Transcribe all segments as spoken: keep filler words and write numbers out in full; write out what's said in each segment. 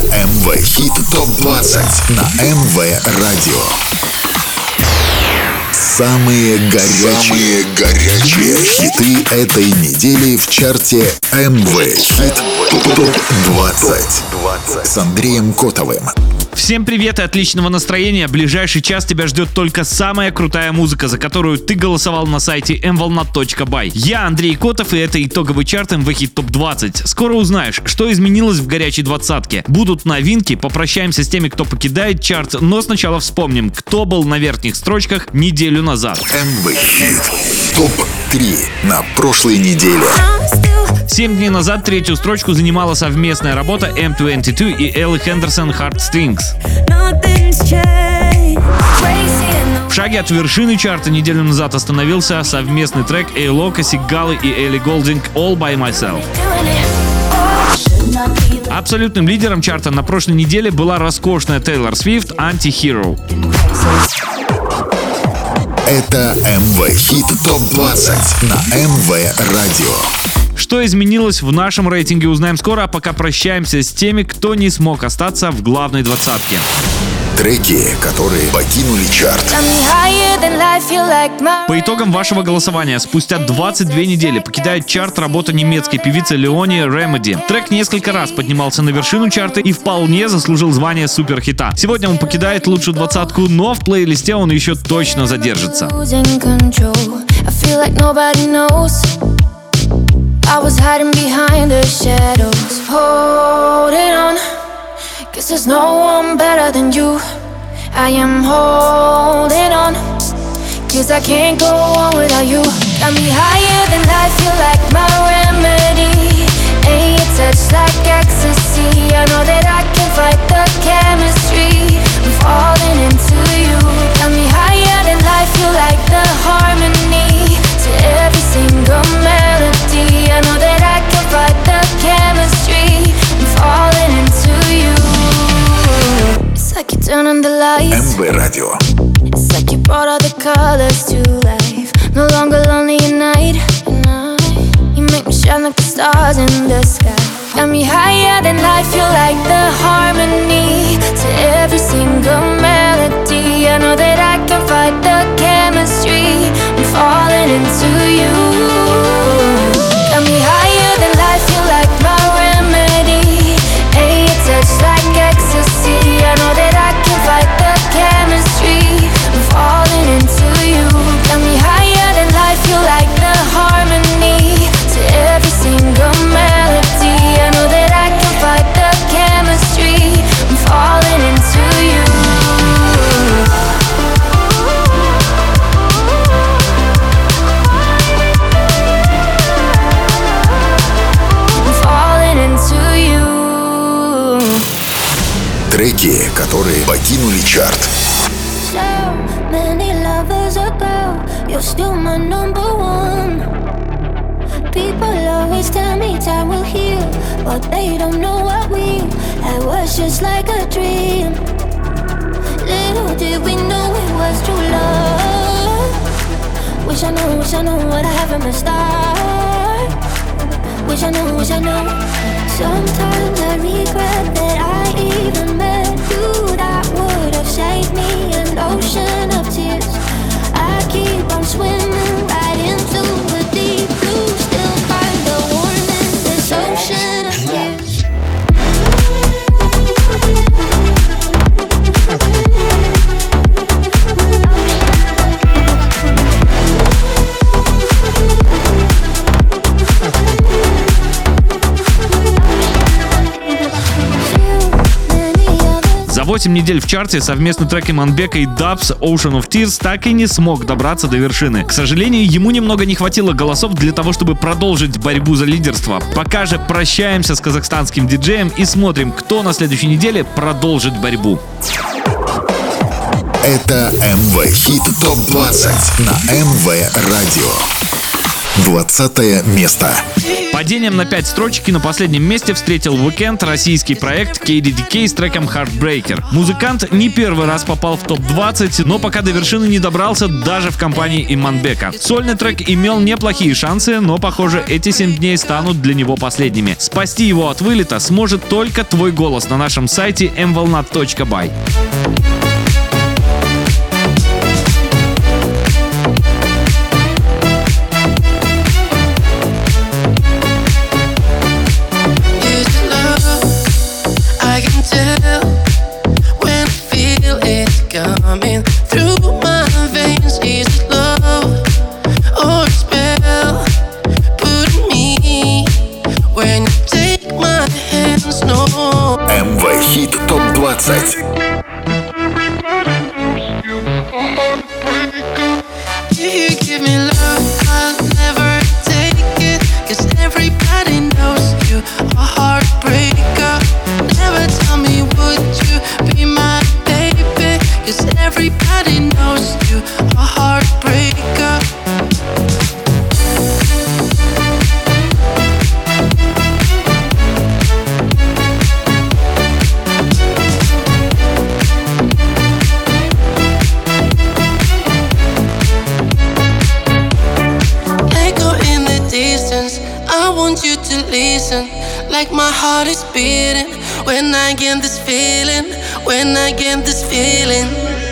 эм вэ Хит топ двадцать на эм вэ Радио. Самые горячие, Самые горячие хиты этой недели в чарте эм вэ Хит топ двадцать с Андреем Котовым. Всем привет и отличного настроения. Ближайший час тебя ждет только самая крутая музыка, за которую ты голосовал на сайте эм волна точка бай. Я Андрей Котов, и это итоговый чарт эм вэ Хит топ двадцать. Скоро узнаешь, что изменилось в горячей двадцатке. Будут новинки, попрощаемся с теми, кто покидает чарт, но сначала вспомним, кто был на верхних строчках неделю назад. эм вэ Хит топ три на прошлой неделе. Семь дней назад третью строчку занимала совместная работа эм двадцать два и Элли Хендерсон «Heartstrings». В шаге от вершины чарта неделю назад остановился совместный трек A-Loca, Сигалы и Элли Голдинг «All by Myself». Абсолютным лидером чарта на прошлой неделе была роскошная Тейлор Свифт «Anti-Hero». Это эм вэ Хит топ двадцать на эм вэ Радио. Что изменилось в нашем рейтинге, узнаем скоро, а пока прощаемся с теми, кто не смог остаться в главной двадцатке. Треки, которые покинули чарт. По итогам вашего голосования, спустя двадцать две недели покидает чарт работа немецкой певицы Леони Remedy. Трек несколько раз поднимался на вершину чарта и вполне заслужил звание суперхита. Сегодня он покидает лучшую двадцатку, но в плейлисте он еще точно задержится. I was hiding behind the shadows, holding on, 'cause there's no one better than you. I am holding on, 'cause I can't go on without you. Got me higher than life, feel like my remedy. Ain't your touch like ecstasy. I know that I can fight the chemistry. I'm falling into you. Got me higher than life, feel like the harmony to every single melody. I know that I can fight the chemistry. I'm falling into you. It's like you turn on the lights. эм вэ Радио. It's like you brought all the colors to life. No longer lonely at night. You make me shine like the stars in the sky. Got me higher than life, feel like the harmony to every single melody. I know that I can fight the chemistry. I'm falling into you. Got me higher than life, feel like my remedy. Ain't your touch like ecstasy. I know that I can fight the chemistry. I'm falling into you. Got me higher than life, feel like the harmony to every single melody. I know that I can fight the chemistry. I'm falling into you. Треки, которые покинули чарт. So many lovers ago, you're still my number one. People always tell me time will heal, but they don't know what we had was just like a dream. Little did we know it was true love. Wish I knew, wish I knew what I have from the start. Wish I knew, wish I knew. Sometimes I regret that I even met you. That would have saved me an ocean of tears. I keep on swimming right into the deep blue. Still find the warmth in this ocean of tears. За восемь недель в чарте совместный трек Иманбека и Дабс Ocean of Tears так и не смог добраться до вершины. К сожалению, ему немного не хватило голосов для того, чтобы продолжить борьбу за лидерство. Пока же прощаемся с казахстанским диджеем и смотрим, кто на следующей неделе продолжит борьбу. Это эм вэ Хит топ двадцать на эм вэ Радио. двадцатое место. Падением на пять строчек и на последнем месте встретил Weeknd российский проект кей ди ди кей с треком Heartbreaker. Музыкант не первый раз попал в топ двадцать, но пока до вершины не добрался даже в компании Иманбека. Сольный трек имел неплохие шансы, но, похоже, эти семь дней станут для него последними. Спасти его от вылета сможет только твой голос на нашем сайте эм волна точка бай. Coming through my veins, is it love or a spell? Put me when you take my hands, no. эм ви Хит топ двадцать. You give me love, I'll never take it, 'cause everybody knows you a heartbreaker. Never tell me would you be my baby, 'cause everybody knows you a heartbreaker. Echo in the distance, I want you to listen, like my heart is beating when I get this feeling, when I get this feeling.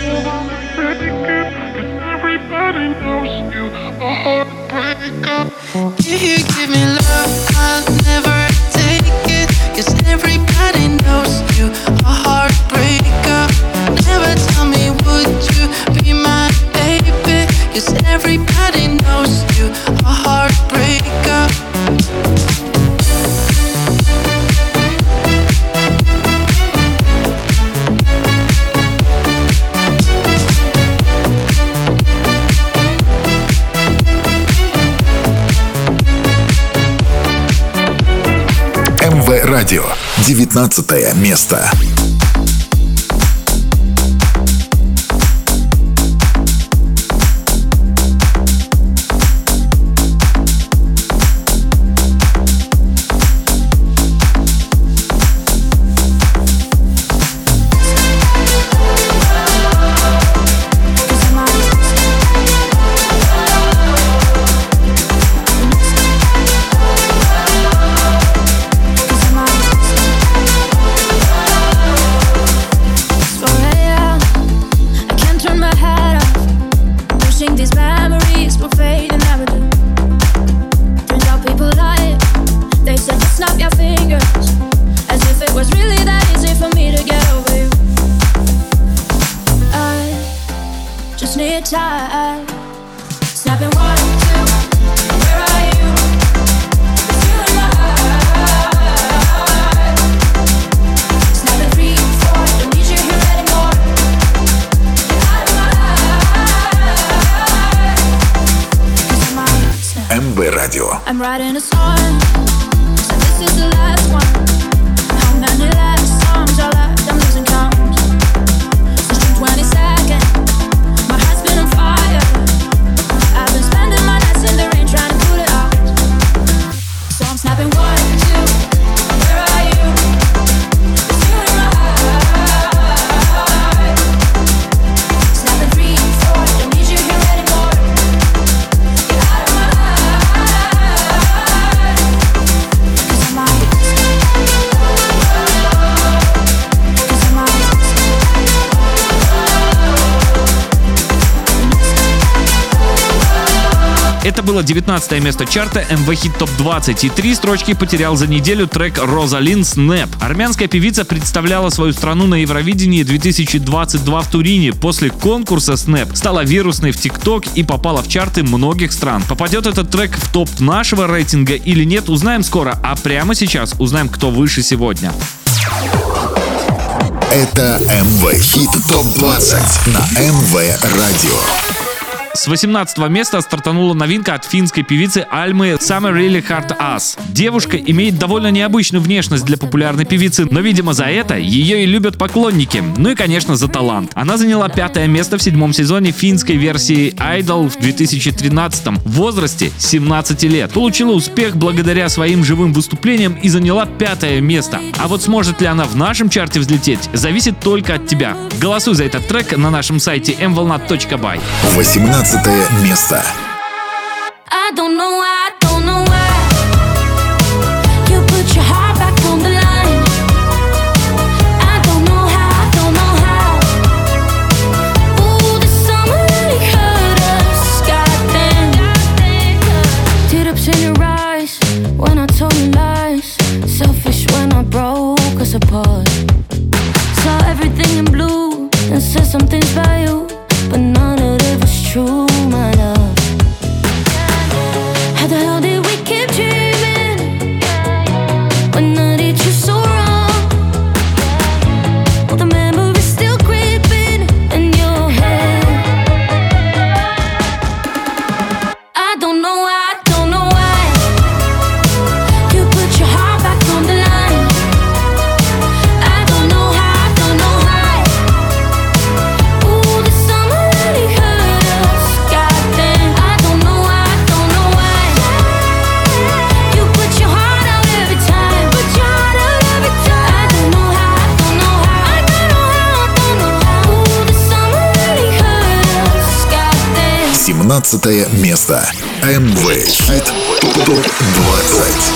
Everybody knows you a heartbreaker. You give me love, I'll never take it, 'cause everybody knows you a heartbreaker. Never tell me would you be my baby, 'cause everybody knows you a heartbreaker. эм ви Радио. девятнадцатое место. Time. Snapping one, two, where are you? It's you in my heart. Snapping three, four, don't need you here anymore. Get out of my life. 'Cause I'm on snap. эм ви Радио. I'm writing a song, so this is the last one. How many last songs are left? I'm losing count. Since June twenty-second. Это было девятнадцатое место чарта эм ви Хит топ двадцать, и три строчки потерял за неделю трек Розалин «Снэп». Армянская певица представляла свою страну на Евровидении две тысячи двадцать два в Турине. После конкурса «Снэп» стала вирусной в ТикТок и попала в чарты многих стран. Попадет этот трек в топ нашего рейтинга или нет, узнаем скоро, а прямо сейчас узнаем, кто выше сегодня. Это эм ви Хит топ двадцать на эм ви Радио. С восемнадцатого места стартанула новинка от финской певицы Альмы Summer Really Hurt Us. Девушка имеет довольно необычную внешность для популярной певицы, но, видимо, за это ее и любят поклонники. Ну и, конечно, за талант. Она заняла пятое место в седьмом сезоне финской версии Idol в две тысячи тринадцатом в возрасте семнадцати лет. Получила успех благодаря своим живым выступлениям и заняла пятое место. А вот сможет ли она в нашем чарте взлететь, зависит только от тебя. Голосуй за этот трек на нашем сайте эм волна точка бай. восемнадцатое место. I don't know why, I don't know why you put your heart back on the line. I don't know how, I don't know how. Ooh, the summer really hurt us, goddamn. Teardrops in your eyes when I told you lies. Selfish when I broke us apart. Saw everything in blue and said some things about you, but none of it was true, my love. How the hell did we keep dreaming when I did you so wrong? All the memories still creeping in your head. I don't know why, I don't know why you put your heart back on the line. I don't know how, I don't know why. Ooh, the summer really hurt us, goddamn. I don't know why, I don't know why you put your heart out every time, put your heart out every time. I don't know how, I don't know how, I don't know how, I don't know how. Ooh, the summer really hurt us, goddamn. семнадцатое место. эм вэ Хит топ двадцать.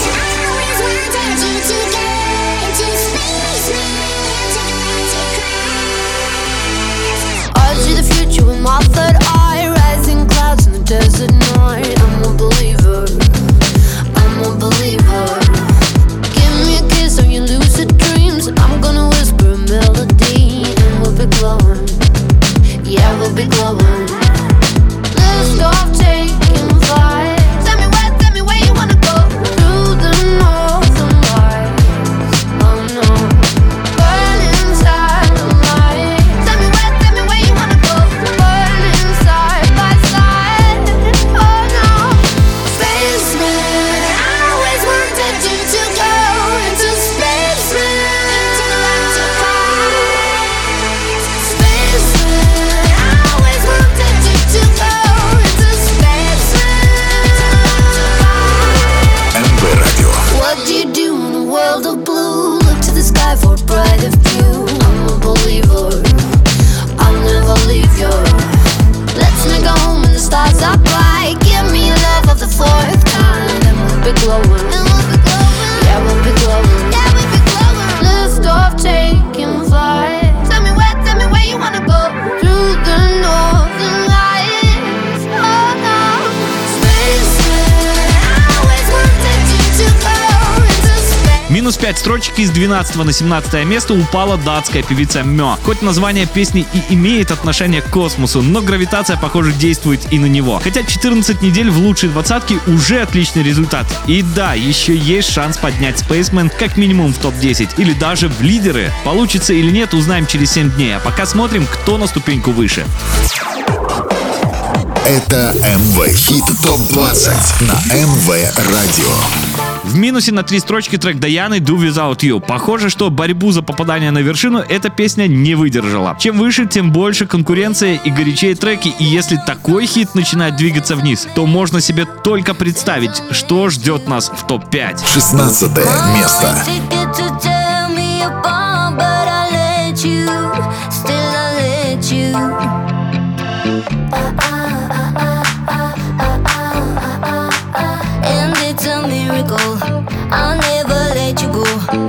I see the future with my third eye, rising clouds in the desert night. I'm a believer, I'm a believer. Give me a kiss on your lucid dreams, and I'm gonna whisper a melody, and we'll be glowing. Yeah, we'll be glowing. Lift off, taking flight. Tell me where, tell me where you wanna go. Through the northern lights. Oh no. Burn inside the light. Tell me where, tell me where you wanna go. Burning side by side. Oh no. Spaceman, I always wanted you to go into spaceman. Into galactic light. Spaceman, I always wanted you to go into spaceman. эм вэ Радио. What do you do in a world of blue? Look to the sky for a brighter view. I'm a believer, I'll never leave you. Let's make a home when the stars are bright. Give me love of the fourth kind, and we'll be glowing. And we'll be glowing. Yeah, we'll be glowing. Yeah, we'll be glowing. Lift off, taking flight. Tell me where, tell me where you wanna go. Through the northern lights. Oh no. Spaceman, I always wanted you to go into space. Минус пять строчек из двенадцатого на семнадцатое место упала датская певица Мё. Хоть название песни и имеет отношение к космосу, но гравитация, похоже, действует и на него. Хотя четырнадцать недель в лучшей двадцатке уже отличный результат. И да, еще есть шанс поднять Spaceman как минимум в топ десять или даже в лидеры. Получится или нет, узнаем через семь дней. А пока смотрим, кто на ступеньку выше. Это эм вэ Хит топ двадцать на эм вэ Радио. В минусе на три строчки трек Даяны Do Without You. Похоже, что борьбу за попадание на вершину эта песня не выдержала. Чем выше, тем больше конкуренция и горячее треки. И если такой хит начинает двигаться вниз, то можно себе только представить, что ждет нас в топ пять. шестнадцатое место. I'll never let you go.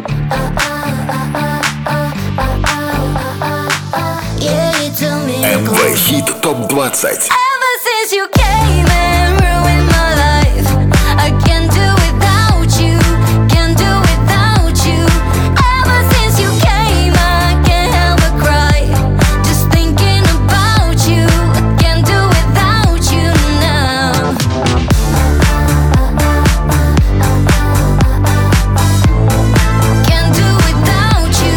Yeah, it's a miracle. эм вэ Хит топ двадцать. Ever since you came and ruined my life, I can't do without you, can't do without you. Ever since you came, I can't help but cry, just thinking about you. I can't do without you now. Can't do without you.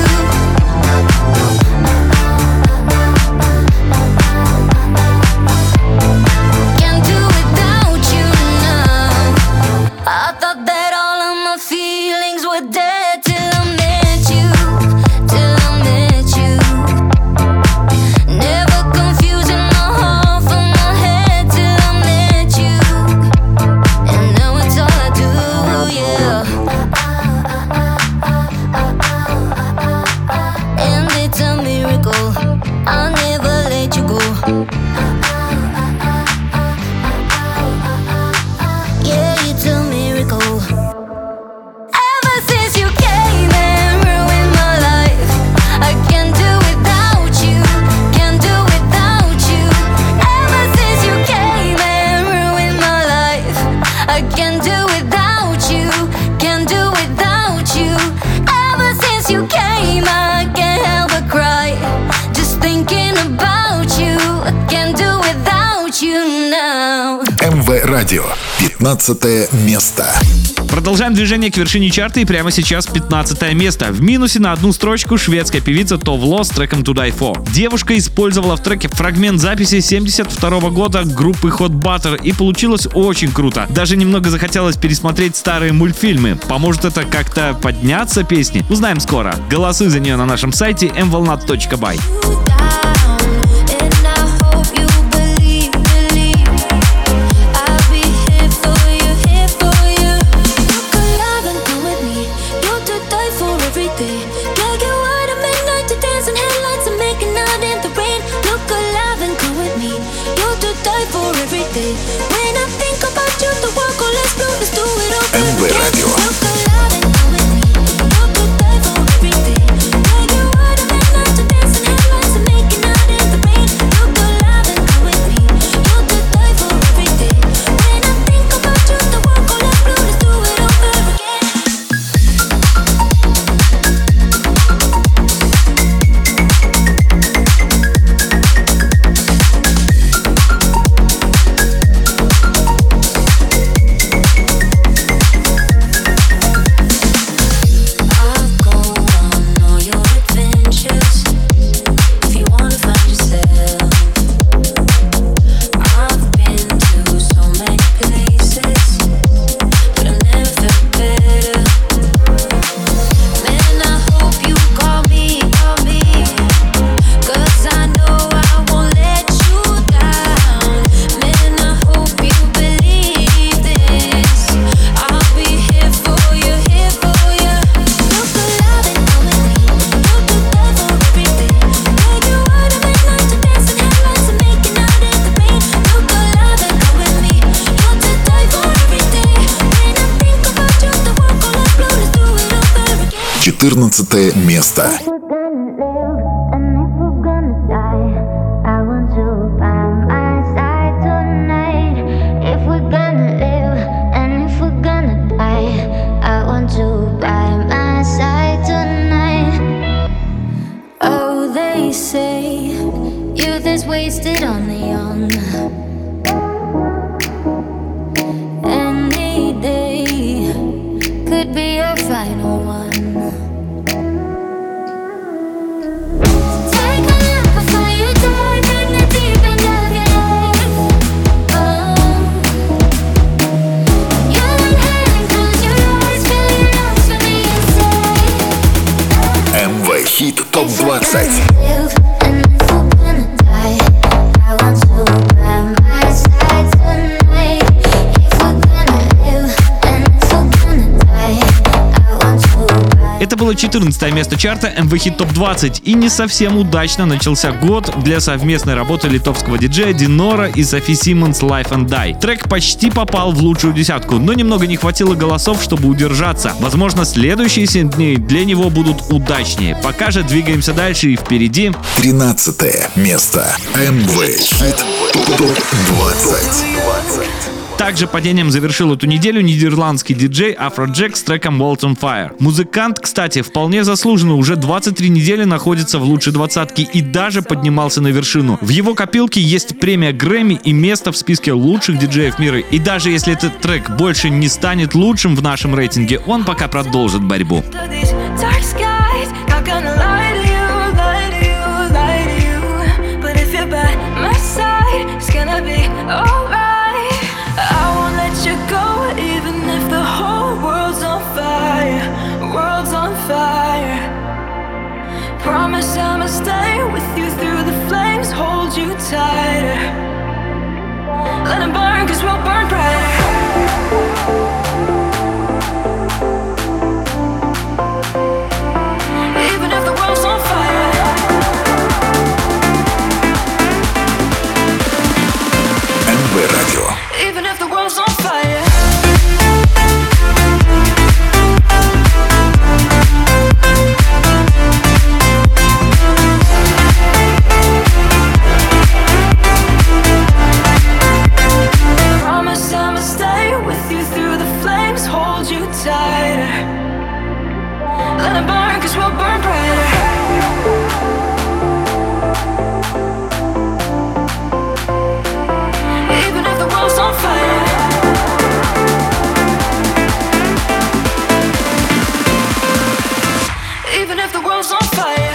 радио. пятнадцатое место. Продолжаем движение к вершине чарта, и прямо сейчас пятнадцатое место. В минусе на одну строчку шведская певица Tove Lo с треком To Die For. Девушка использовала в треке фрагмент записи семьдесят второго года группы Hot Butter, и получилось очень круто. Даже немного захотелось пересмотреть старые мультфильмы. Поможет это как-то подняться песни? Узнаем скоро. Голосуй за нее на нашем сайте эм волна точка бай. эм вэ радио. четырнадцатое место. Wasted on the young. Any day could be your final one. Take a look before you dive in the deep end of your life. Oh, you're in hand, close your eyes, feel your lungs from the inside. эм вэ Хит топ двадцать. Это было четырнадцатое место чарта эм вэ Хит топ двадцать, и не совсем удачно начался год для совместной работы литовского диджея Динора и Софи Симмонс Life and Die. Трек почти попал в лучшую десятку, но немного не хватило голосов, чтобы удержаться. Возможно, следующие семь дней для него будут удачнее. Пока же двигаемся дальше, и впереди тринадцатое место. эм вэ Хит топ двадцать. Также падением завершил эту неделю нидерландский диджей Afrojack с треком World on Fire. Музыкант, кстати, вполне заслуженно уже двадцать три недели находится в лучшей двадцатке и даже поднимался на вершину. В его копилке есть премия Грэмми и место в списке лучших диджеев мира. И даже если этот трек больше не станет лучшим в нашем рейтинге, он пока продолжит борьбу. Promise I'ma stay with you through the flames, hold you tighter. Let it burn, cause we'll burn brighter. Even if the world's on fire. эм вэ радио. Even if the world's on fire. Let it burn, cause we'll burn brighter. Even if the world's on fire. if the world's on fire.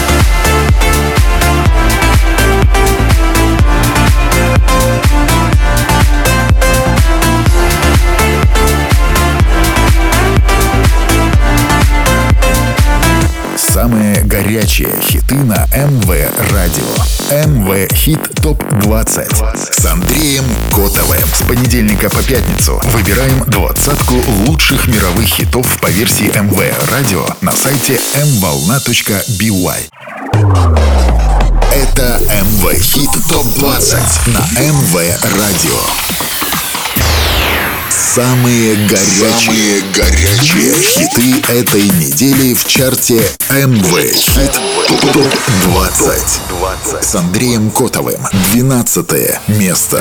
Самые горячие хиты на эм вэ Радио. эм вэ Хит топ двадцать с Андреем Котовым. С понедельника по пятницу выбираем двадцатку лучших мировых хитов по версии эм вэ Радио на сайте эм волна точка би уай. Это эм вэ Хит топ двадцать на эм вэ Радио. Самые горячие, Самые горячие хиты этой недели в чарте эм вэ Хит топ двадцать с Андреем Котовым. двенадцатое место.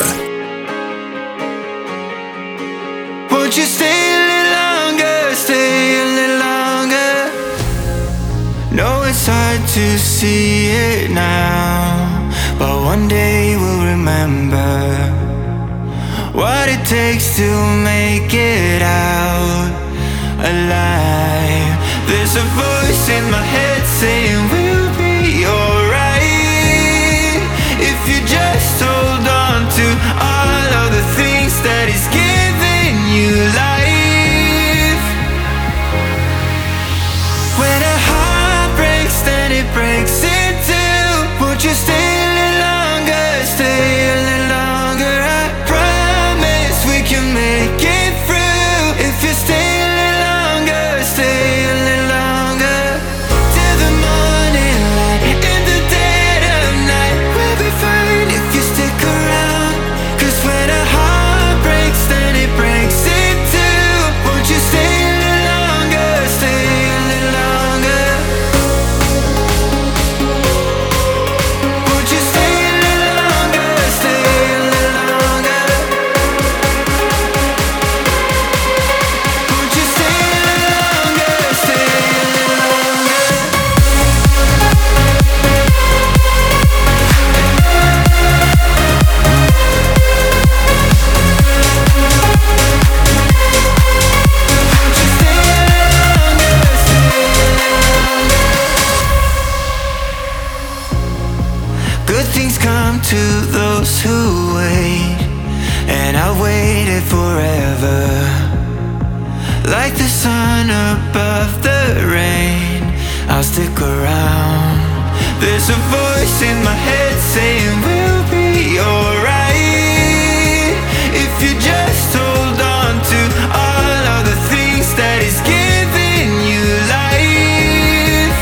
Won't you stay a little longer, stay a little longer? No, it's hard to see it now, but one day we'll remember what it takes to make it out alive. There's a voice in my head saying we'll be alright if you just hold on to all of the things that is giving you life. When a heart breaks, then it breaks in two. Won't you stay a little longer, stay a little longer? I promise we can make it through if you stay a little longer, stay a little longer. Till the morning light, in the dead of night, we'll be fine if you stick around. Cause when a heart breaks, then it breaks in two. Won't you stay a little longer, stay a little longer? Won't you stay a little longer, stay a little longer? Won't you stay a little longer, stay a little longer? Won't you stay a little longer, stay a little longer? Good things come to those who wait, and I waited forever. Like the sun above the rain, I'll stick around. There's a voice in my head saying we'll be alright if you just hold on to all of the things that is giving you life.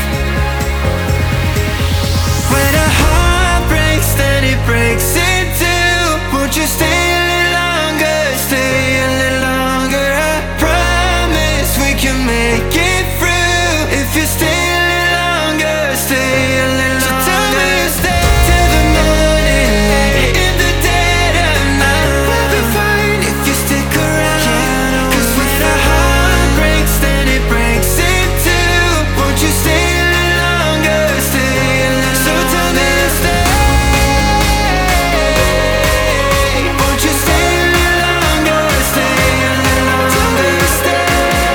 When a heart breaks, then it breaks in two. Won't you stay a little longer, stay a little longer? I promise we can make it through if you stay a little longer, stay a little longer. So tell me to stay till the morning light, in the dead of night, we'll be fine if you stick around. Cause when a heart breaks, then it breaks in two. Won't you stay a little longer, stay a little longer? So tell me to stay. Won't you stay a little longer, stay a little longer? Tell me to stay.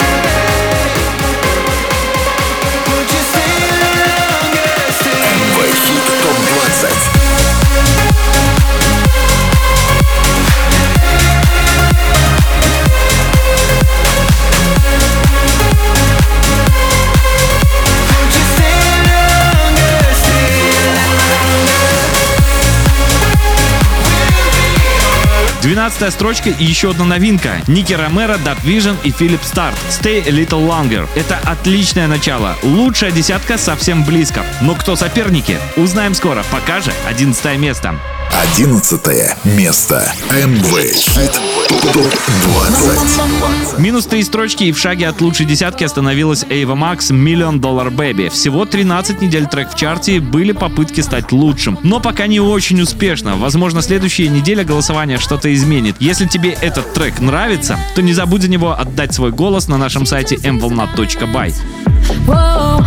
Won't you stay a little longer, stay a эм вэ Хит топ двадцать. Won't you stay a little longer, stay a little longer? двенадцатая строчка и еще одна новинка. Ники Ромеро, Dark Vision и Philip Starr. Stay a Little Longer. Это отличное начало. Лучшая десятка совсем близко. Но кто соперники? Узнаем скоро. Пока же одиннадцатое место. Одиннадцатое место. эм вэ Хит топ двадцать. Минус три строчки и в шаге от лучшей десятки остановилась Ava Max Million Dollar Baby. Всего тринадцать недель трек в чарте, были попытки стать лучшим. Но пока не очень успешно. Возможно, следующая неделя голосования что-то изменит. Если тебе этот трек нравится, то не забудь за него отдать свой голос на нашем сайте эм волна точка бай. Whoa,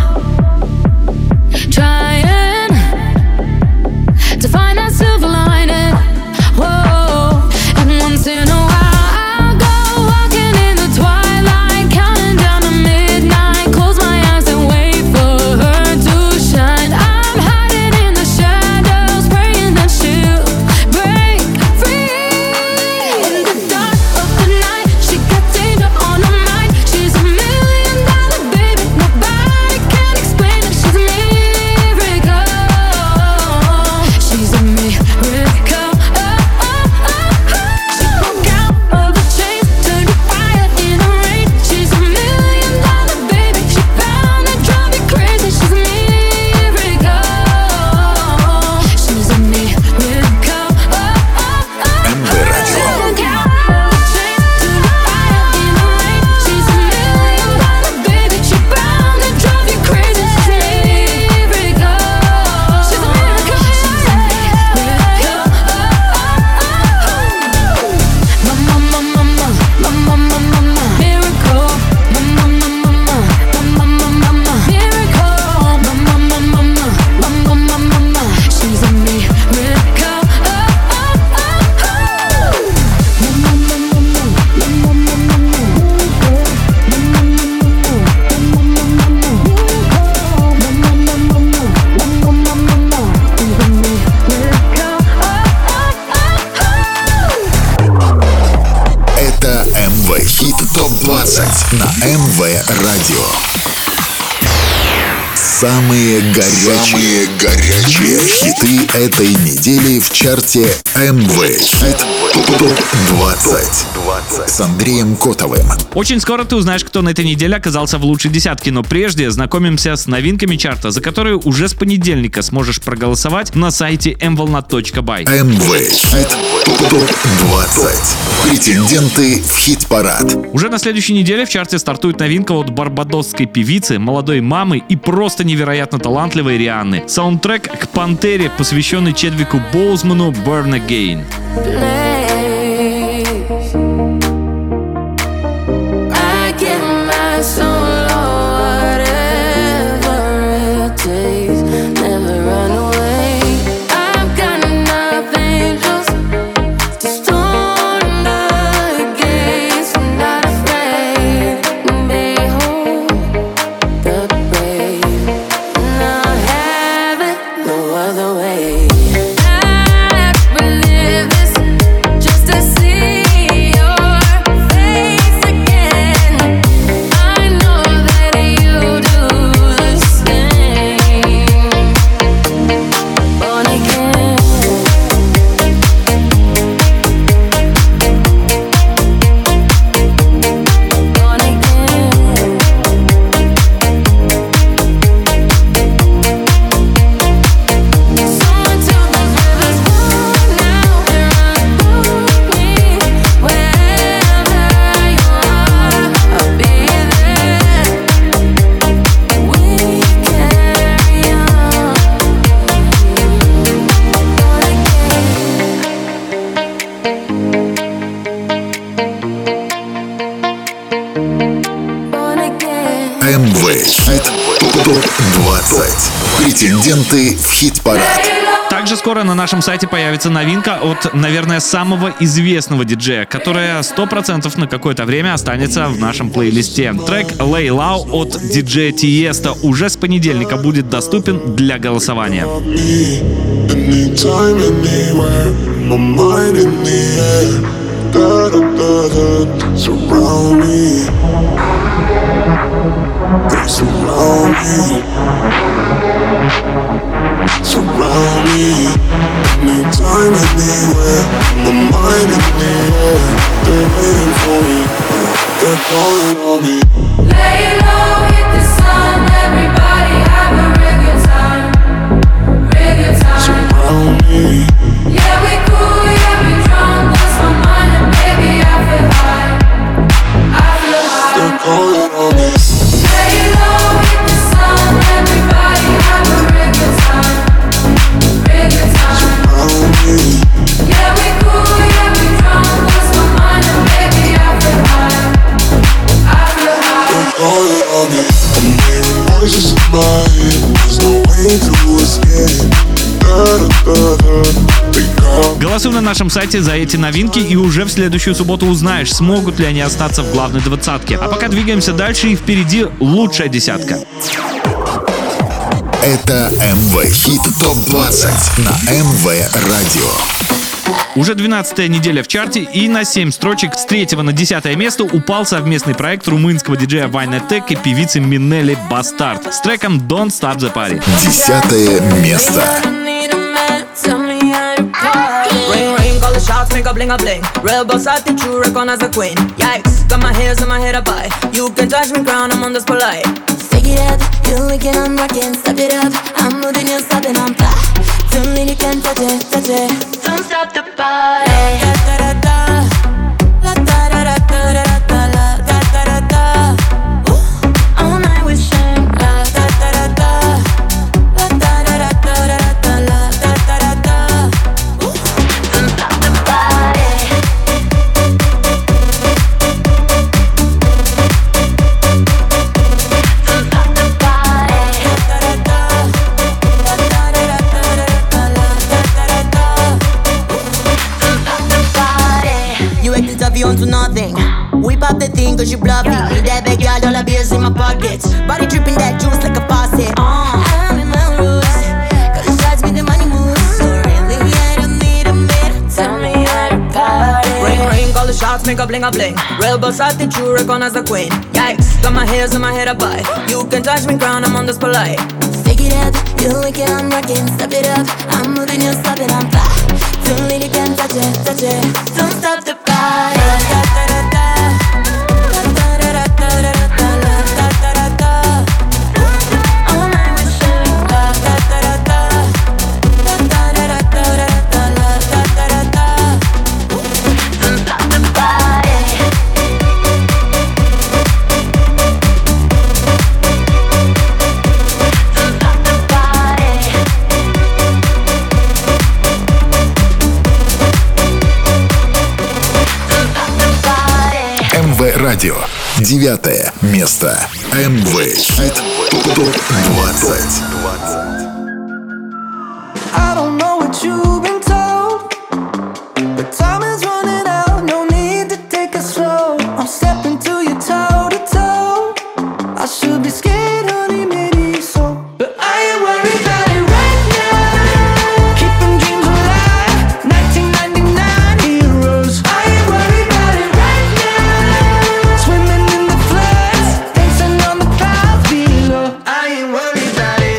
trying to find that silver lining. Whoa, and once in a while I go walking in the twilight, counting down to midnight. Close my eyes and wait for her. Радио. Самые горячие, Самые горячие хиты этой недели в чарте эм вэ Хит топ двадцать с Андреем Котовым. Очень скоро ты узнаешь, кто на этой неделе оказался в лучшей десятке, но прежде знакомимся с новинками чарта, за которые уже с понедельника сможешь проголосовать на сайте эм волна точка бай. эм вэ Хит топ двадцать. Претенденты в хит-парад. Уже на следующей неделе в чарте стартует новинка от барбадосской певицы, молодой мамы и просто невероятно талантливой Рианны. Саундтрек к «Пантере», посвященный Чедвику Боузману, «Born Again». эм вэ Хит топ двадцать. Претенденты в хит-парад. Также скоро на нашем сайте появится новинка от, наверное, самого известного диджея, которая сто процентов на какое-то время останется в нашем плейлисте. Трек «Lay Low» от диджея Тиеста уже с понедельника будет доступен для голосования. Surround me, anytime, anywhere. My mind in the air, they're waiting for me. They're calling on me. Lay low, hit the sun. Everybody have a real good time, real good time. Surround me, Yeah, we cool, yeah, we drunk. Lost my mind and baby, I feel high, I feel high. they're calling on me. Lay low, hit the sun. Everybody have a real good time, real good time. Surround me, Yeah, we cool, yeah, we drunk. Lost my mind and baby, I feel high, I feel high. they're calling on me. I'm hearing voices in my head. There's no way to escape. Da-da-da-da. They call me. Голосуй на нашем сайте за эти новинки и уже в следующую субботу узнаешь, смогут ли они остаться в главной двадцатке. А пока двигаемся дальше, и впереди лучшая десятка. Это эм вэ Хит топ двадцать на эм вэ Радио. Уже двенадцатая неделя в чарте, и на семь строчек с третьего на десятое место упал совместный проект румынского диджея Вайнетек и певицы Минели Бастард с треком «Don't Stop the Party». Десятое место. Ring ring, call the shots, make a bling a bling. Real boss, I think you recognize the queen. Yikes, got my hairs in my head up high. You can touch me crown, I'm on this polite. Stick it up, you're wicked, I'm rocking, step it up. I'm moving, you're stopping, I'm fly. Tell me you can touch it, touch it. Don't stop the party. Da da da da, la da da da da da da la da da da da. Ooh, all night we shine, la da da da da, la da da da da da da la da da da da. Ooh, don't stop the party. Don't stop the party. Da da da da, la da da da da da da la da da da da. Don't stop the party. You acting tough, you onto nothing. Whip up the thing cause you bluffing. Need that big girl, all the beers in my pockets. Body dripping that juice like a faucet. Uh. I'm in my roots, got the shots with the money moves. So really, I don't need a minute. Tell me how to party. Ring ring, call the shots, make a bling a bling. Real boss, I think you recognize the queen. Yikes, got my heels in my head up high. You can touch me crown, I'm on this polite. Stick it up, you like it, I'm rocking. Step it up, I'm moving, you stop it, I'm fly. Don't let it can touch it, touch it. Don't stop the party. Радио. Девятое место. эм вэ Хит топ двадцать. I don't know what you've been told, but time is running out, no need to take it slow. I'm stepping to you toe to toe. I should be scared, honey, maybe so, but I ain't worried about it right now. Keeping dreams alive, nineteen ninety-nine heroes. I ain't worried about it right now. Swimming in the floods, dancing on the clouds below. I ain't worried about it.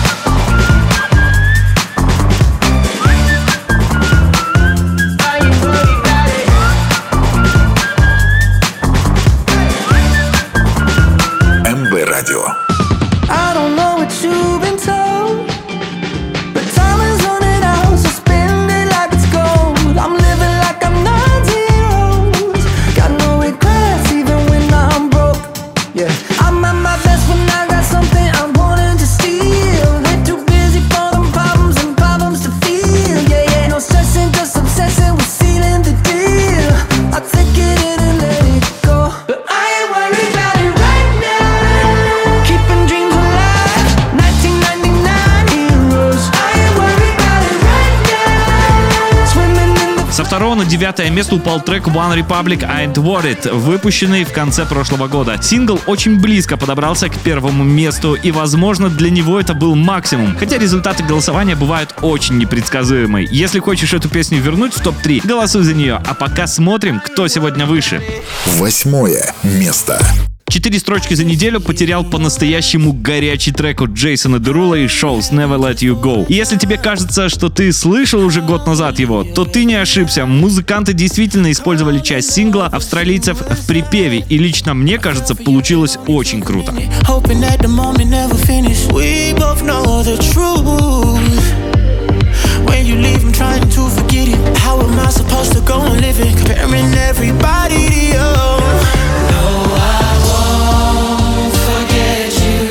эм вэ Радио. I don't know what you've been told, but time is running out, so spend it like it's gold. I'm living like I'm nine zeros. Got no regrets even when I'm broke. Yeah, I'm at my best when I got something I'm wanting to steal. Ain't too busy for them problems and problems to feel. Yeah, yeah, no stressing, just obsessing with sealing the deal. I take it in and let it go, but I ain't worried about it right now. Keeping dreams alive, nineteen ninety-nine heroes. I ain't worried about it right now. Swimming in the Со второго на девятое место упал трек One Republic I Ain't Worried, выпущенный в конце прошлого года. Сингл очень близко подобрался к первому месту, и, возможно, для него это был максимум. Хотя результаты голосования бывают очень непредсказуемые. Если хочешь эту песню вернуть в топ три, голосуй за нее. А пока смотрим, кто сегодня выше. Восьмое место. Четыре строчки за неделю потерял по-настоящему горячий трек от Джейсона Дерула и Shows Never Let You Go. И если тебе кажется, что ты слышал уже год назад его, то ты не ошибся. Музыканты действительно использовали часть сингла австралийцев в припеве, и лично мне кажется, получилось очень круто. hoping that the moment never finish. We both know the truth. When you leave, I'm trying to forget it. How am I supposed to go and live it? Comparing everybody to you. No, I won't forget you.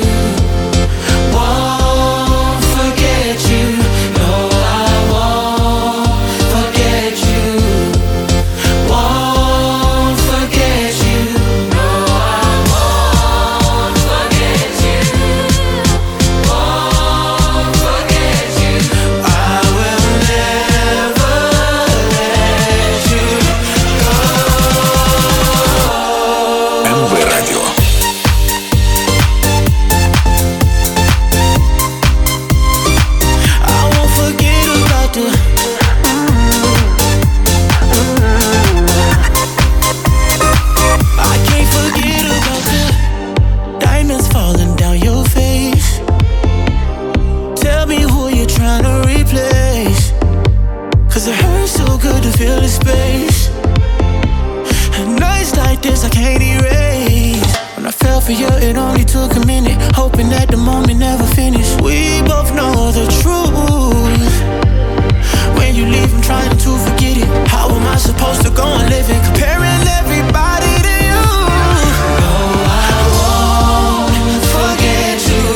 Won't forget you. No, I won't forget you. Won't forget you. No, I won't forget you. Won't forget you. I will never let you go. эм вэ Радио. I won't forget about the I can't forget about the diamonds falling down your face. Tell me who you're trying to replace. Cause it hurts so good to feel the space. And nights like this I can't erase. When I fell for you it only took a minute. Hoping that the moment never finished. We both know the truth. When you leave I'm trying to forget it. How am I supposed to go on living? Comparing everybody to you. No, I won't forget you.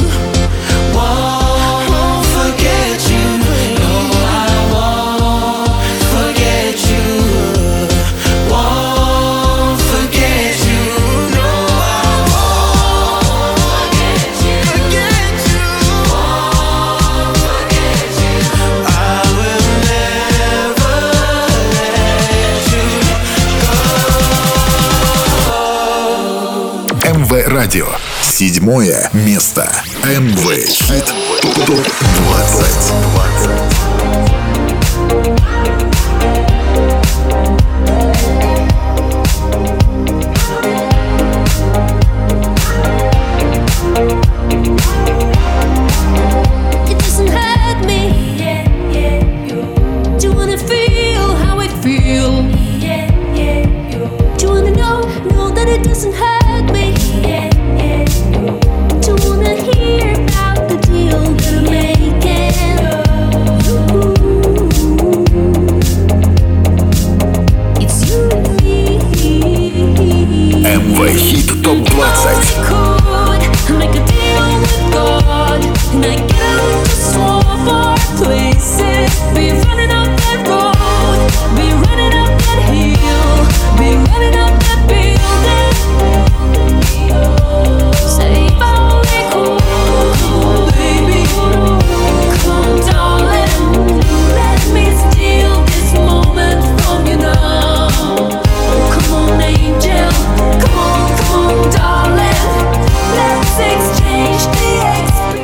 Won't forget you. No, I won't forget you. Won't forget you. No, I won't forget you. Forget you. Won't forget you. I will never let you go. эм вэ Радио. Седьмое место. эм вэ Хит топ двадцать.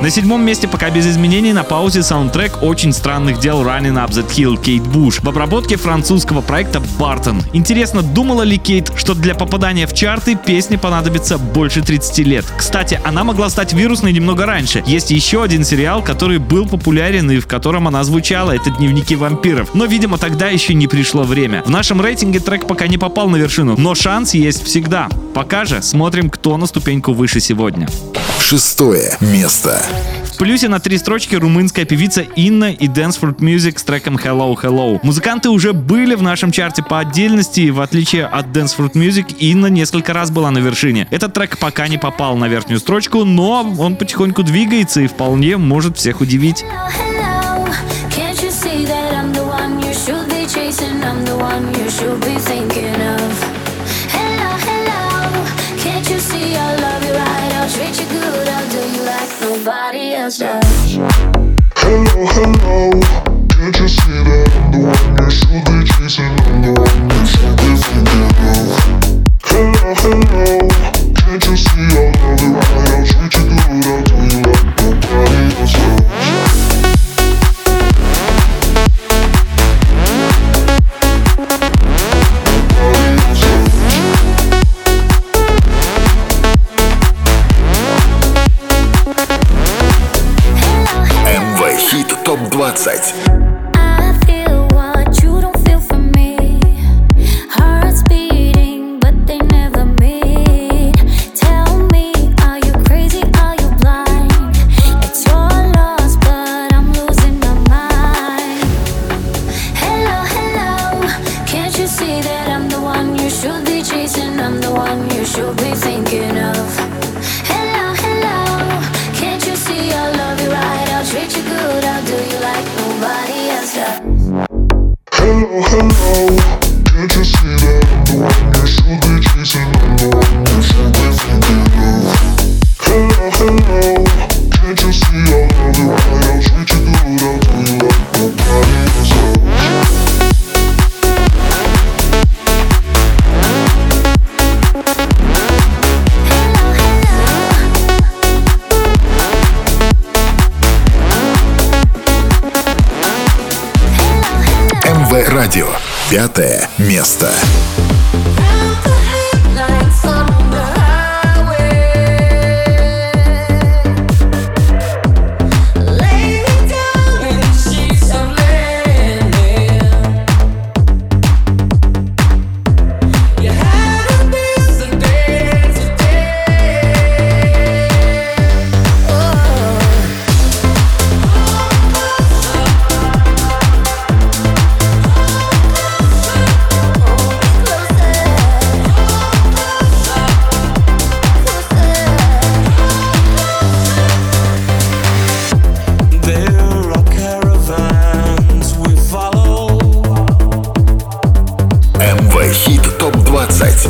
На седьмом месте пока без изменений на паузе саундтрек «Очень странных дел» Running Up That Hill Кейт Буш в обработке французского проекта Barton. Интересно, думала ли Кейт, что для попадания в чарты песне понадобится больше тридцати лет? Кстати, она могла стать вирусной немного раньше. Есть еще один сериал, который был популярен и в котором она звучала. Это «Дневники вампиров». Но, видимо, тогда еще не пришло время. В нашем рейтинге трек пока не попал на вершину, но шанс есть всегда. Пока же смотрим, кто на ступеньку выше сегодня. Шестое место. В плюсе на три строчки румынская певица Инна и Dance Fruit Music с треком Hello Hello. Музыканты уже были в нашем чарте по отдельности, и в отличие от Dance Fruit Music, Инна несколько раз была на вершине. Этот трек пока не попал на верхнюю строчку, но он потихоньку двигается и вполне может всех удивить. Nobody else does. Hello, hello, can't you see that I'm the one you should be chasing? I'm the one you should be thinking of. Hello, hello, can't you see I'll love you right, I'll treat you good, I'll do you like nobody else does. эм вэ Хит топ двадцать. Hello, hello, can't you see that I'm the one you should be chasing? I'm the one you should be thinking of. Hello, hello, can't you see I'll love you right, I'll treat you good, I'll do you like nobody else does. эм вэ Радио. Пятое место. эм вэ Хит топ двадцать.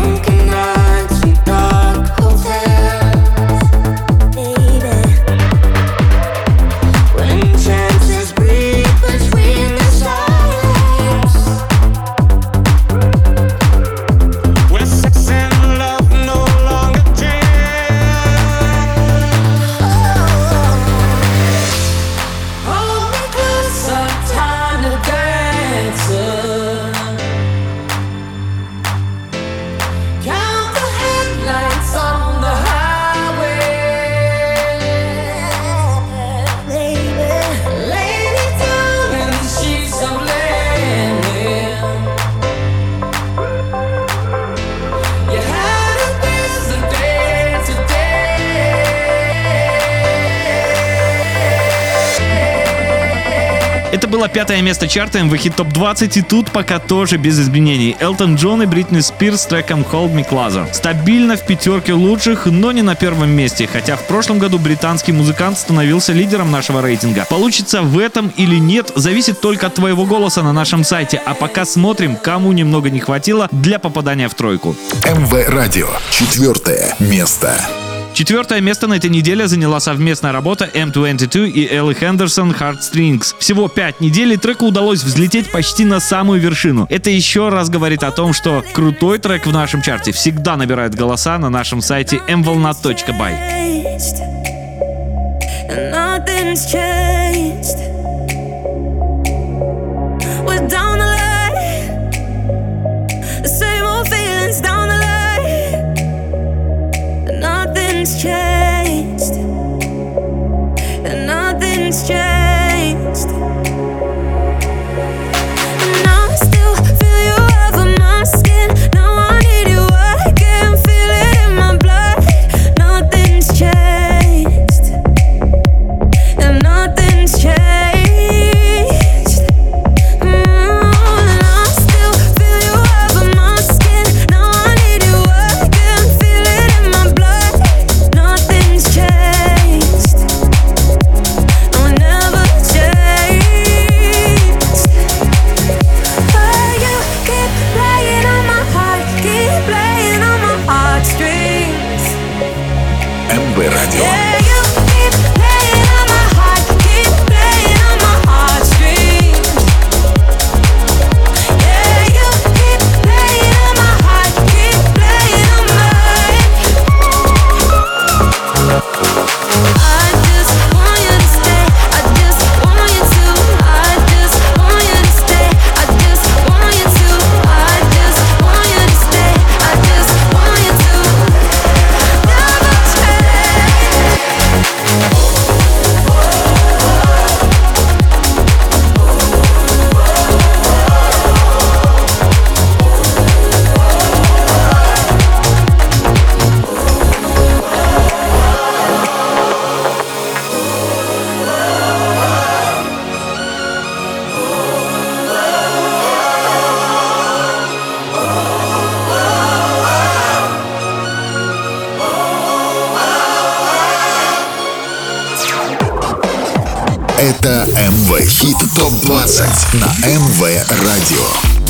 Это было пятое место чарта эм вэ Хит топ двадцать, и тут пока тоже без изменений. Элтон Джон и Бритни Спирс с треком Hold Me Closer. Стабильно в пятерке лучших, но не на первом месте, хотя в прошлом году британский музыкант становился лидером нашего рейтинга. Получится в этом или нет, зависит только от твоего голоса на нашем сайте, а пока смотрим, кому немного не хватило для попадания в тройку. эм вэ Радио. Четвертое место. Четвертое место на этой неделе заняла совместная работа эм двадцать два и Элли Хендерсон «Heartstrings». Всего пять недель, и треку удалось взлететь почти на самую вершину. Это еще раз говорит о том, что крутой трек в нашем чарте всегда набирает голоса на нашем сайте эм волна точка бай. and nothing's changed. We're down the line, the same old feelings down the line, and nothing's changed, and nothing's changed. Это эм вэ Хит топ двадцать на эм вэ Радио.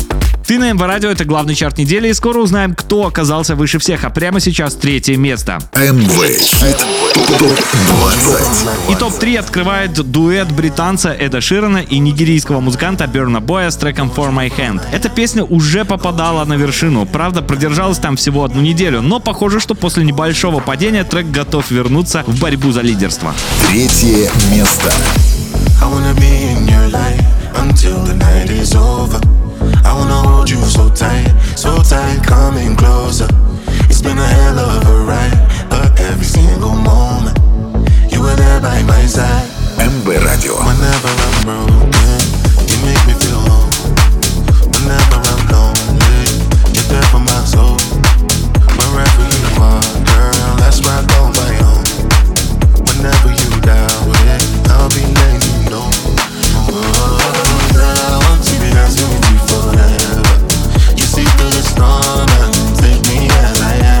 Ты на эм вэ Радио — это главный чарт недели, и скоро узнаем, кто оказался выше всех, а прямо сейчас третье место. эм вэ Хит топ двадцать. И топ три открывает дуэт британца Эда Ширана и нигерийского музыканта Берна Боя с треком For My Hand. Эта песня уже попадала на вершину, правда, продержалась там всего одну неделю, но похоже, что после небольшого падения трек готов вернуться в борьбу за лидерство. Третье место. I wanna be in your light until the night is over. I wanna hold you so tight, so tight, coming closer. It's been a hell of a ride, but every single moment you were there by my side. эм вэ Радио. Whenever I'm broken, you make me feel home. Whenever I'm lonely, you're there for my soul. Wherever you are, girl, that's where I go my own. Whenever you doubt it, I'll be letting you know. Oh, girl, I want to be dancing with you forever. You see through the storm and take me as I am.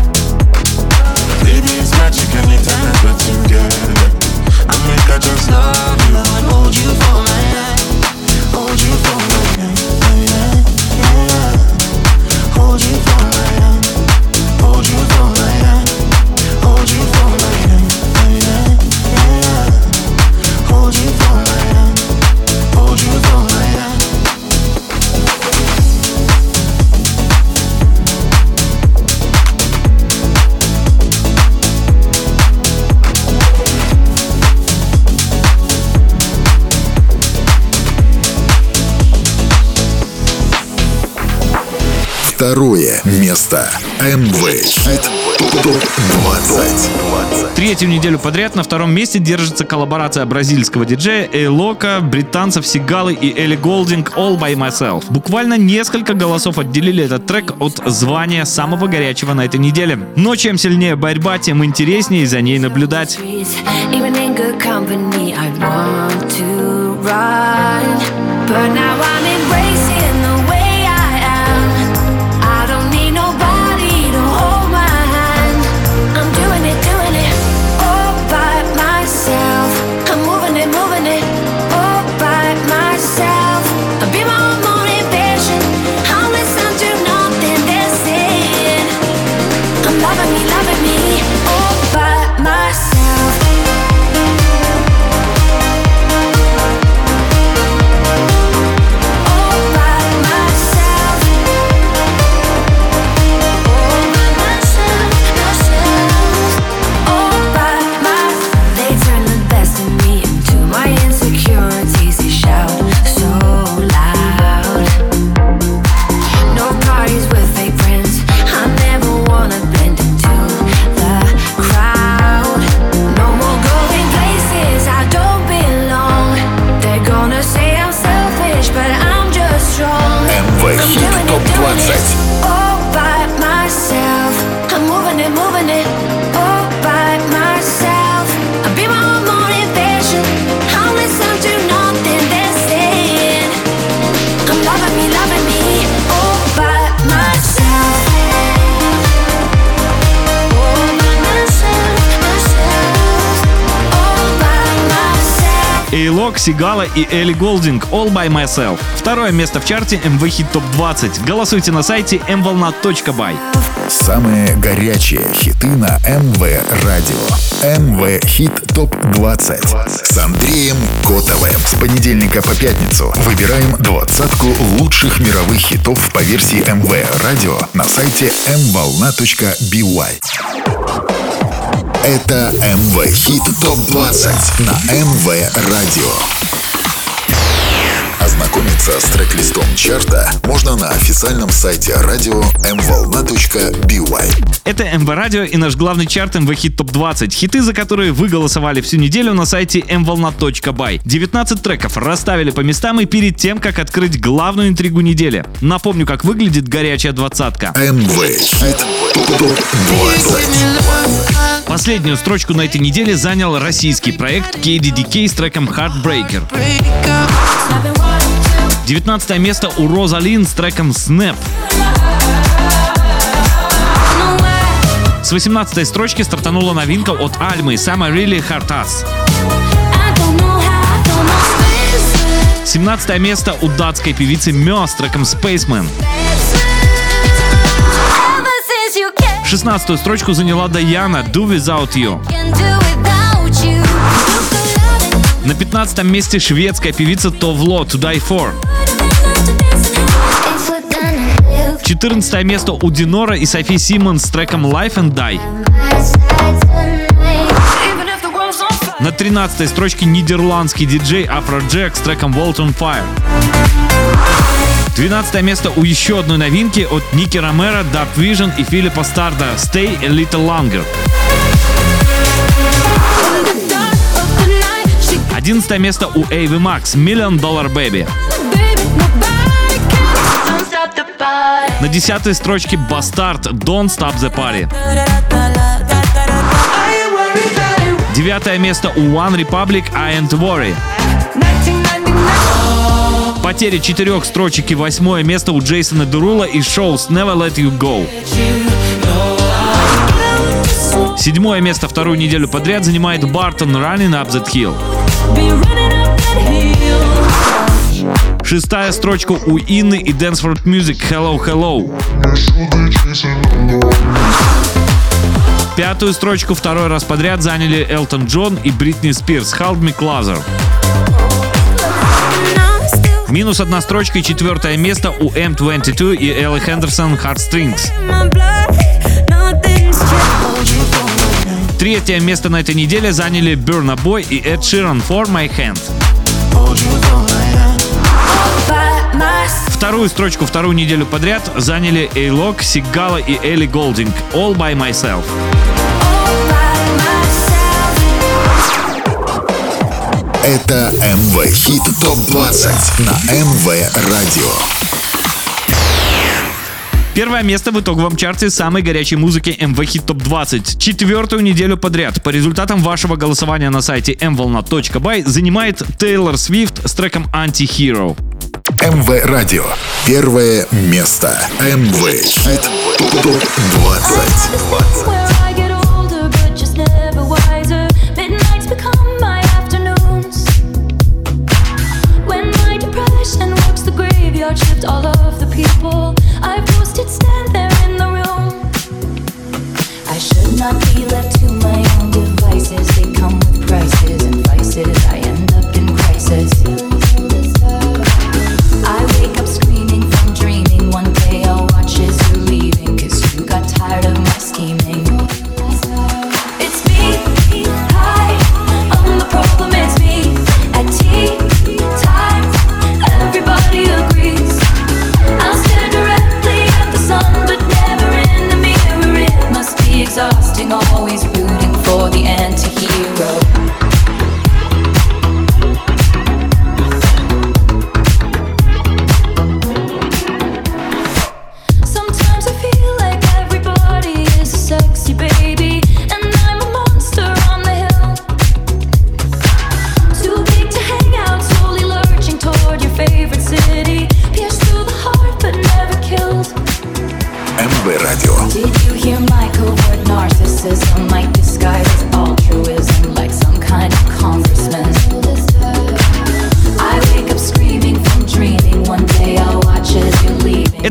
Baby, it's magic anytime that we're together. I make I just love you and hold you for my hand. Hold you for my hand, yeah, yeah. Hold you for my hand. Hold you for my hand. Hold you for my hand, yeah, yeah. Hold you for my hand. Hold you for my hand. Второе место. эм вэ Хит топ двадцать. Третью неделю подряд на втором месте держится коллаборация бразильского диджея Эйлока, британцев Сигалы и Элли Голдинг «All by Myself». Буквально несколько голосов отделили этот трек от звания самого горячего на этой неделе. Но чем сильнее борьба, тем интереснее за ней наблюдать. Even in good company, I want to run, but now I'm embracing the way I am. I don't need nobody to hold my hand. I'm doing it, doing it all by myself. I'm moving it, moving it all by myself. I'll be my own motivation. I'll listen to nothing they're saying. I'm loving me, loving me all by myself. All by A-Log, Sigala и Элли Голдинг «All by Myself». Второе место в чарте эм ви Hit топ двадцать. Голосуйте на сайте эм волна точка бай. Самые горячие хиты на эм вэ Радио. эм вэ Hit топ двадцать с Андреем Котовым. С понедельника по пятницу выбираем двадцатку лучших мировых хитов по версии эм вэ Радио на сайте эм волна точка бай. Это эм вэ Hit топ двадцать на эм вэ Радио. Ознакомиться с трек-листом чарта можно на официальном сайте радио эм волна точка бай. Это эм вэ Радио и наш главный чарт эм вэ Hit топ двадцать. Хиты, за которые вы голосовали всю неделю на сайте эм волна точка бай. девятнадцать треков расставили по местам и перед тем, как открыть главную интригу недели. Напомню, как выглядит горячая двадцатка. эм вэ Hit топ двадцать. Последнюю строчку на этой неделе занял российский проект кей ди ди кей с треком Heartbreaker. девятнадцатое место у Розалин с треком Snap. С восемнадцатой строчки стартанула новинка от Альмы Summer Really Hurt Us. семнадцатое место у датской певицы Мё с треком Spaceman. шестнадцатую строчку заняла Даяна Do Without You. На пятнадцатом месте шведская певица Товло To Die For. четырнадцатое место у Динора и Софи Симмонс с треком Life and Die. На тринадцатой строчке нидерландский диджей Afrojack с треком World on Fire. двенадцатое место у еще одной новинки от Ники Ромеро, Dark Vision и Филиппа Старда Stay a Little Longer. одиннадцатое место у Эйви Макс Million Dollar Baby. На десятой строчке Бастард Don't Stop the Party. девятое место у One Republic I Ain't Worry. Потеря четырех строчек и восьмое место у Джейсона Дерула и Shows Never Let You Go. Седьмое место вторую неделю подряд занимает Бартон Running Up That Hill. Шестая строчка у Инны и Danceford Music Hello Hello. Пятую строчку второй раз подряд заняли Элтон Джон и Бритни Спирс Hold Me Closer. Минус одна строчка и четвертое место у эм двадцать два и Элли Хендерсон Heartstrings. Третье место на этой неделе заняли Burna Boy и Эд Ширан For My Hand. Вторую строчку вторую неделю подряд заняли A-Log, Sigala и Элли Голдинг All by Myself. Это эм вэ Hit топ двадцать на эм вэ Радио. Первое место в итоговом чарте самой горячей музыки эм вэ Hit топ двадцать. Четвертую неделю подряд по результатам вашего голосования на сайте эм волна точка бай занимает Тейлор Свифт с треком Anti-Hero. эм вэ Радио. Первое место. эм вэ Hit топ двадцать. Shift all of the people I've posted stand there in the room. I should not be left to my own devices. They come with prices and vices. I end up in crisis. I wake up screaming from dreaming. One day I'll watch as you're leaving, 'cause you got tired of my scheming.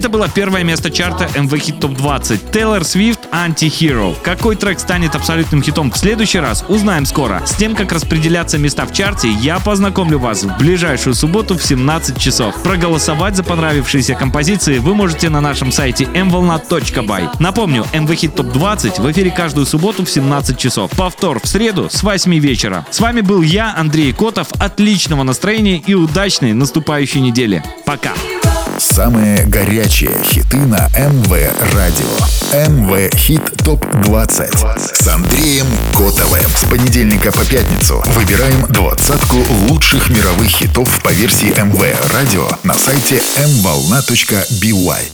Это было первое место чарта эм ви Hit Top двадцать. Тейлор Свифт Anti-Hero. Какой трек станет абсолютным хитом в следующий раз, узнаем скоро. С тем, как распределяться места в чарте, я познакомлю вас в ближайшую субботу в семнадцать часов. Проголосовать за понравившиеся композиции вы можете на нашем сайте эм волна точка бай. Напомню, эм ви Hit Top двадцать в эфире каждую субботу в семнадцать часов. Повтор в среду с восьми вечера. С вами был я, Андрей Котов. Отличного настроения и удачной наступающей недели. Пока. Самые горячие хиты на эм вэ Радио. эм вэ Hit Top двадцать с Андреем Котовым. С понедельника по пятницу выбираем двадцатку лучших мировых хитов по версии эм вэ Радио на сайте эм волна точка би уай.